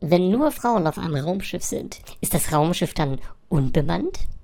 Wenn nur Frauen auf einem Raumschiff sind, ist das Raumschiff dann unbemannt?